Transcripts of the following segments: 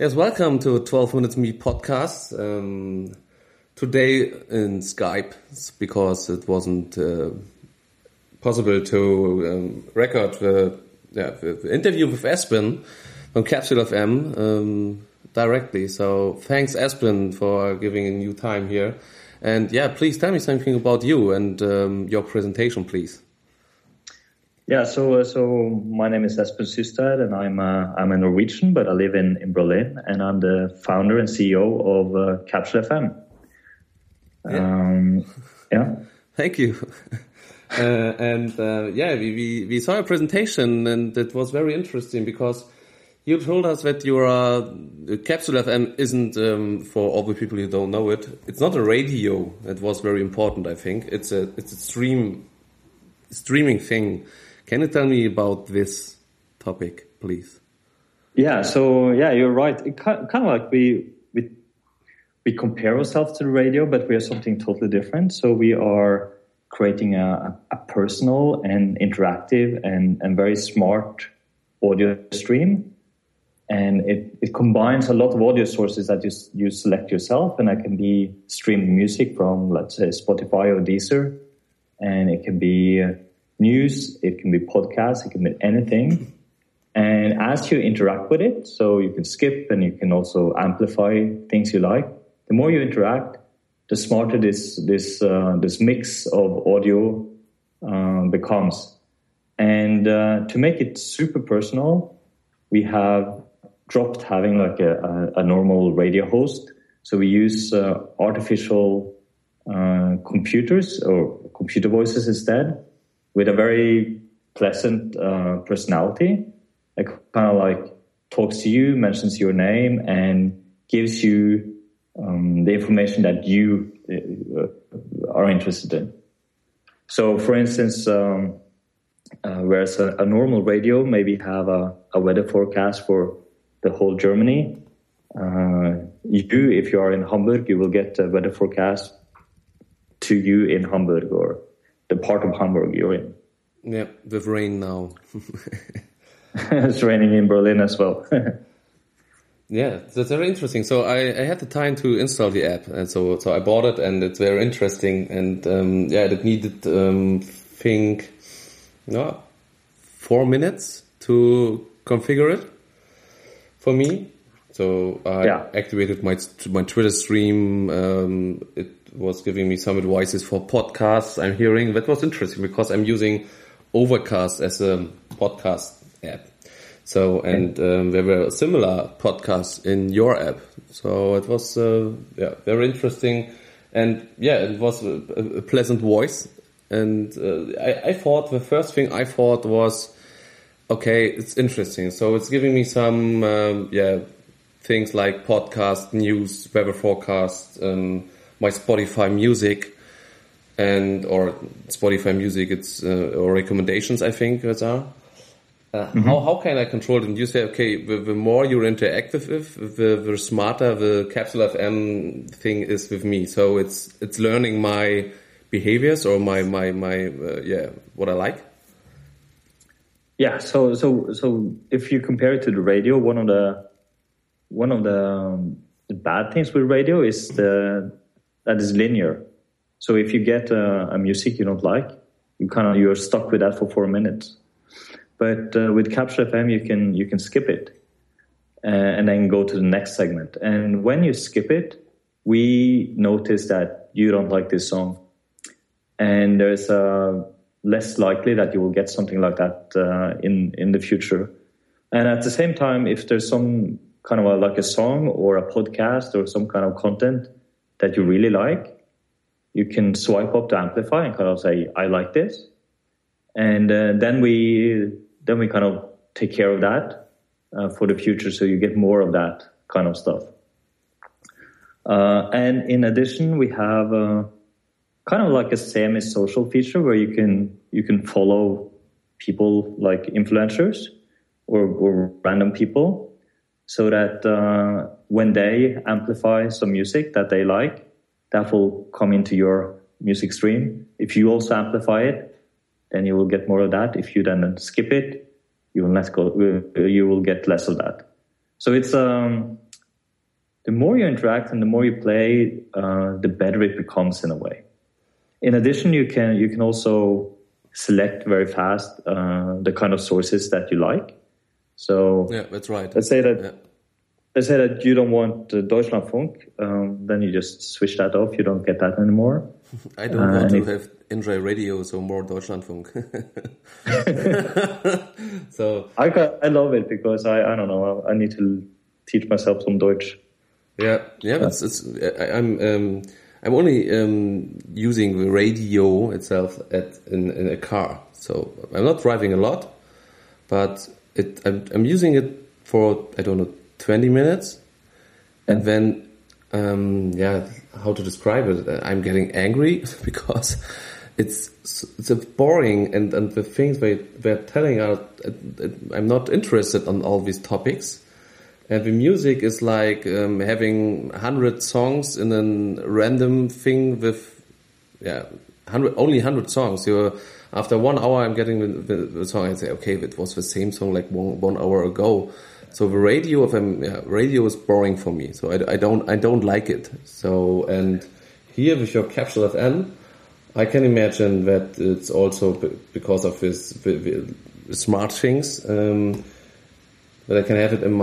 Yes, welcome to 12 Minutes Me podcast. Today in Skype because it wasn't possible to record the interview with Espen from Capsule FM directly. So thanks, Espen, for giving a new time here. And please tell me something about you and your presentation, please. Yeah, so my name is Espen Systad, and I'm a Norwegian, but I live in Berlin, and I'm the founder and CEO of Capsule FM. Thank you. We saw a presentation, and it was very interesting because you told us that Capsule FM isn't for all the people who don't know it. It's not a radio. It was very important, I think. It's a streaming thing. Can you tell me about this topic, please? Yeah, so you're right. It kind of like we compare ourselves to the radio, but we are something totally different. So we are creating a personal and interactive and very smart audio stream. And it combines a lot of audio sources that you select yourself, and that can be streamed music from, let's say, Spotify or Deezer, and it can be news, it can be podcasts, it can be anything. And as you interact with it, so you can skip and you can also amplify things you like. The more you interact, the smarter this mix of audio becomes. And to make it super personal, we have dropped having like a normal radio host. So we use artificial computers or computer voices instead, with a very pleasant personality. It kind of like talks to you, mentions your name, and gives you the information that you are interested in. So, for instance, whereas a normal radio maybe have a weather forecast for the whole Germany, if you are in Hamburg, you will get a weather forecast to you in Hamburg or the part of Hamburg you're in. Yeah, with rain now. It's raining in Berlin as well. Yeah, that's very interesting. So I had the time to install the app, and so I bought it, and it's very interesting. And it needed 4 minutes to configure it for me. So I activated my Twitter stream. It was giving me some advices for podcasts I'm hearing. That was interesting because I'm using Overcast as a podcast app. So, and there were similar podcasts in your app. So it was, very interesting. And it was a pleasant voice. And I thought, the first thing I thought was, okay, it's interesting. So it's giving me some, things like podcast, news, weather forecast, my Spotify music, or Spotify music, it's or recommendations, I think those are. How can I control them? You say, okay, the more you're interactive with, the smarter the Capsule FM thing is with me. So it's learning my behaviors or my what I like. Yeah. So if you compare it to the radio, one of the bad things with radio is that is linear. So if you get a music you don't like, you're stuck with that for 4 minutes. But with Capsule FM, you can skip it and then go to the next segment. And when you skip it, we notice that you don't like this song, and there's less likely that you will get something like that in the future. And at the same time, if there's some kind of like a song or a podcast or some kind of content that you really like, you can swipe up to amplify and kind of say, I like this. And then we kind of take care of that for the future, so you get more of that kind of stuff. And in addition, we have kind of like a semi-social feature where you can follow people like influencers or random people, so that when they amplify some music that they like, that will come into your music stream. If you also amplify it, then you will get more of that. If you then skip it, you will get less of that. So it's the more you interact and the more you play, the better it becomes in a way. In addition, you can also select very fast the kind of sources that you like. So yeah, that's right. Let's say that you don't want Deutschlandfunk, then you just switch that off. You don't get that anymore. I don't want to have Enjoy Radio, so more Deutschlandfunk. So I love it because I don't know, I need to teach myself some Deutsch. Yeah. I'm only using the radio itself in a car, so I'm not driving a lot, but I'm using it for 20 minutes, and then how to describe it? I'm getting angry because it's boring, and the things they're telling are I'm not interested on all these topics. And the music is like having 100 songs in a random thing with, only 100 songs. After 1 hour, I'm getting the song. I say, okay, that was the same song like one hour ago. So the radio is boring for me. So I don't like it. So, and here with your Capsule FM, I can imagine that it's also because of this the smart things. But I can have it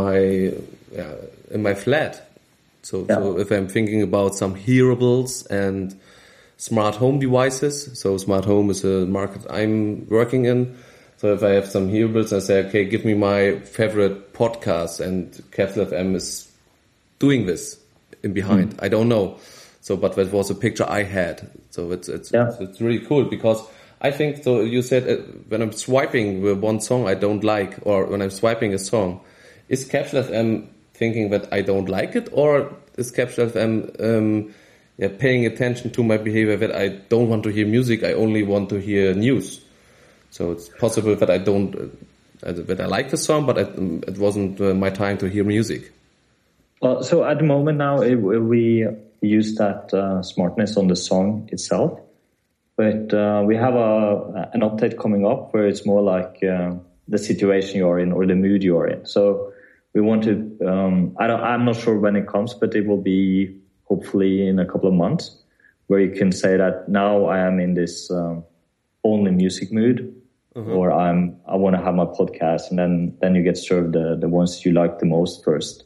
in my flat. So if I'm thinking about some hearables and smart home devices, so smart home is a market I'm working in. So if I have some hearables, I say, okay, give me my favorite podcast, and Capsule FM is doing this in behind. I don't know. So, but that was a picture I had. So it's really cool because I think, so you said when I'm swiping with one song I don't like, or when I'm swiping a song, is Capsule FM thinking that I don't like it, or is Capsule FM paying attention to my behavior that I don't want to hear music, I only want to hear news? So it's possible that I don't, that I like the song, but it wasn't my time to hear music. Well, so at the moment now, we use that smartness on the song itself. But we have an update coming up where it's more like the situation you're in or the mood you're in. So we want to, I'm not sure when it comes, but it will be hopefully in a couple of months, where you can say that now I am in this only music mood, or I want to have my podcast, and then you get served the ones you like the most first,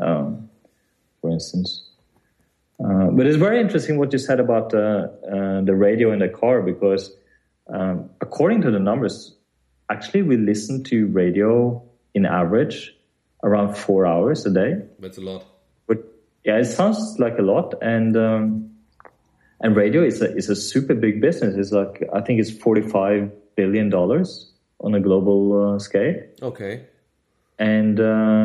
for instance. But it's very interesting what you said about the radio in the car, because according to the numbers, actually we listen to radio in average around 4 hours a day. That's a lot. But yeah, it sounds like a lot, and radio is a super big business. It's like, I think it's $45 billion on a global scale. Okay. And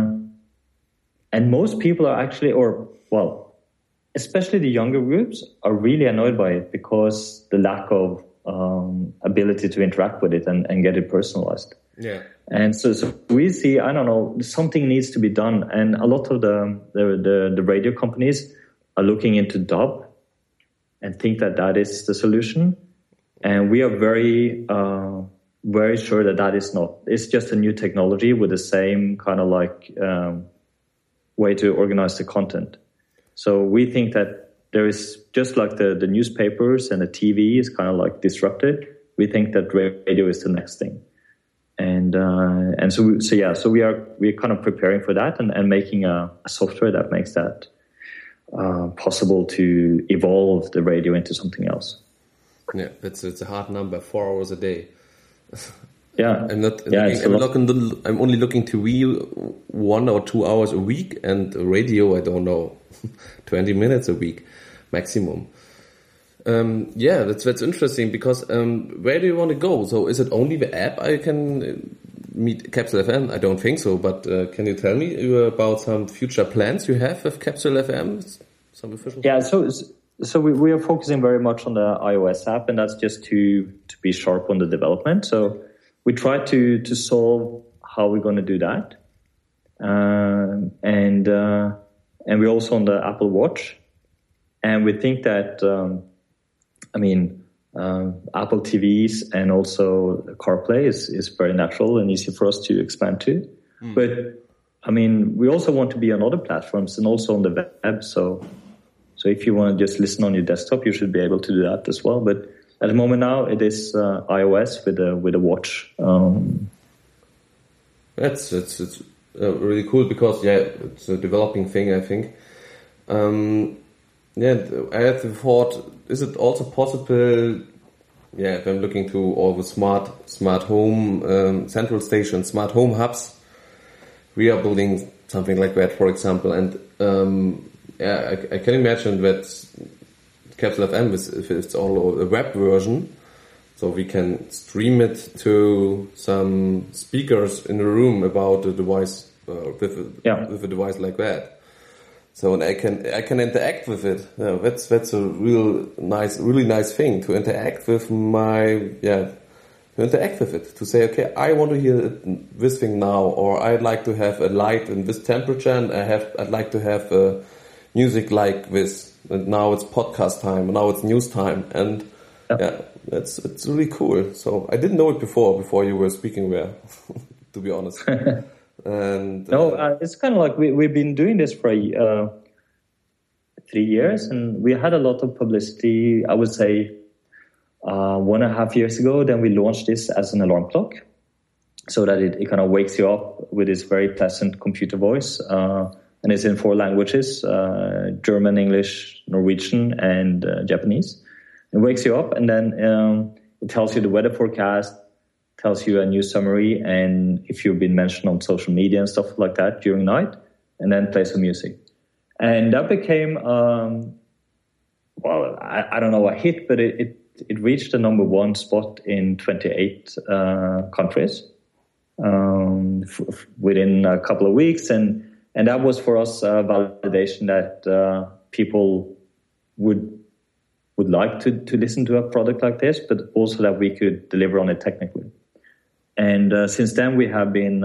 most people are actually, especially the younger groups, are really annoyed by it because the lack of ability to interact with it and get it personalized. Yeah. And so we see, I don't know, something needs to be done. And a lot of the radio companies are looking into DAB and think that is the solution. And we are very, very sure that is not. It's just a new technology with the same kind of like way to organize the content. So we think that there is, just like the newspapers and the TV is kind of like disrupted, we think that radio is the next thing. And so we're kind of preparing for that and making a software that makes that possible to evolve the radio into something else. Yeah, it's a hard number, 4 hours a day. Yeah, I'm only looking to view 1 or 2 hours a week, and radio, I don't know, 20 minutes a week maximum. That's interesting, because where do you want to go? So is it only the app I can meet Capsule FM? I don't think so, but can you tell me about some future plans you have with Capsule FM? Some official? Yeah, so we are focusing very much on the iOS app, and that's just to be sharp on the development. So we try to solve how we're going to do that. And we're also on the Apple Watch. And we think that, Apple TVs and also CarPlay is very natural and easy for us to expand to. But I mean, we also want to be on other platforms and also on the web. So if you want to just listen on your desktop, you should be able to do that as well. But at the moment now, it is iOS with a watch. It's really cool because it's a developing thing, I think. I had the thought: is it also possible? Yeah, if I'm looking to all the smart home central stations, smart home hubs, we are building something like that, for example. And I can imagine that Capsule FM if it's all a web version, so we can stream it to some speakers in the room about the device with a device like that. So and I can interact with it. Yeah, that's a really nice thing to interact with to say, okay, I want to hear this thing now, or I'd like to have a light in this temperature, and I'd like to have music like this. And now it's podcast time, and now it's news time, and it's really cool. So I didn't know it before you were speaking there, to be honest. And it's kind of like we've been doing this for 3 years, and we had a lot of publicity. I would say 1.5 years ago, then we launched this as an alarm clock, so that it kind of wakes you up with this very pleasant computer voice, and it's in 4 languages: German, English, Norwegian, and Japanese. It wakes you up, and then it tells you the weather forecast, tells you a news summary, and if you've been mentioned on social media and stuff like that during night, and then play some music. And that became, I don't know, a hit, but it reached the number 1 spot in 28 countries within a couple of weeks. And that was for us a validation that people would like to listen to a product like this, but also that we could deliver on it technically. And since then, we have been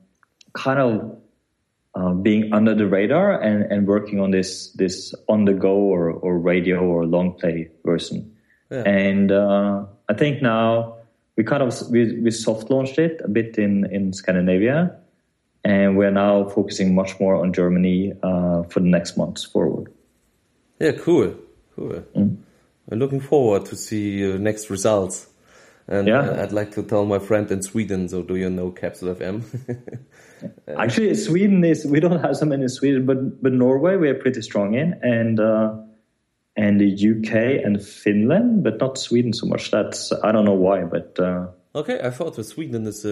being under the radar and working on this on the go or radio or long play version. Yeah. And I think now we soft launched it a bit in Scandinavia, and we're now focusing much more on Germany for the next months forward. Yeah, cool. I'm looking forward to see next results. And I'd like to tell my friend in Sweden, so do you know Capsule FM? Actually, Sweden we don't have so many in Sweden, but Norway we are pretty strong in, and the UK and Finland, but not Sweden so much. That's, I don't know why, but... Okay, I thought that Sweden is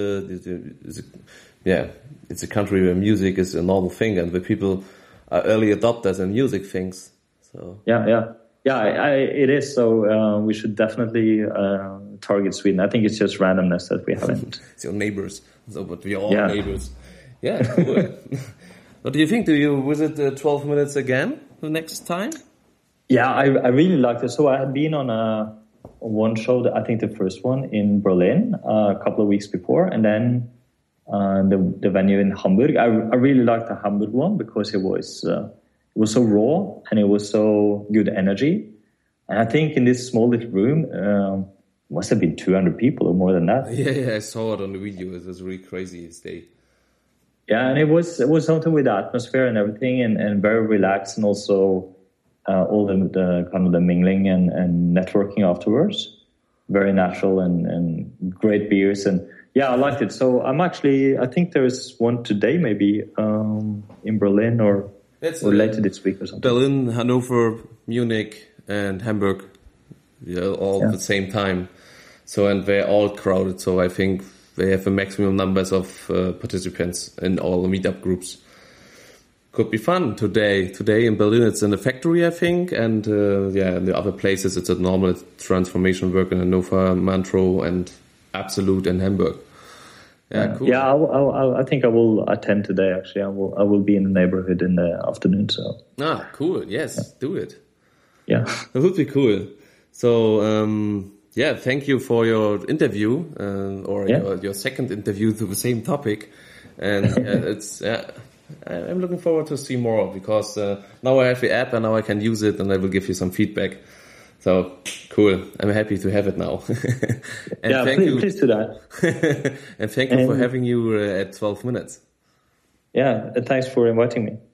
it's a country where music is a normal thing, and where people are early adopters in music things. So it is. So we should definitely target Sweden. I think it's just randomness that we haven't. It's your neighbors, but we are all neighbors. Yeah, cool. What do you think? Do you visit 12 Minutes again the next time? Yeah, I really liked it. So I had been on one show, I think the first one in Berlin a couple of weeks before, and then the venue in Hamburg. I really liked the Hamburg one because it was so raw and it was so good energy. And I think in this small little room, must have been 200 people or more than that. Yeah, I saw it on the video. It was really crazy day. Yeah, and it was something with the atmosphere and everything, and very relaxed, and also all the kind of the mingling and networking afterwards. Very natural and great beers, and yeah, I liked it. So I think there's one today maybe in Berlin or later this week or something. Berlin, Hanover, Munich, and Hamburg, all at the same time. So, and they're all crowded. So I think they have a maximum numbers of participants in all the meetup groups. Could be fun today. Today in Berlin, it's in the factory, I think, and in the other places, it's a normal transformation work in Hannover, Montreux, and Absolute in Hamburg. Yeah, cool. Yeah, I think I will attend today. Actually, I will be in the neighborhood in the afternoon. So. Cool. Yes, do it. Yeah, that would be cool. So, thank you for your interview your second interview to the same topic, and I'm looking forward to see more because now I have the app and now I can use it and I will give you some feedback. So cool! I'm happy to have it now. And please do that. And thank you for having you at 12 Minutes. Yeah, thanks for inviting me.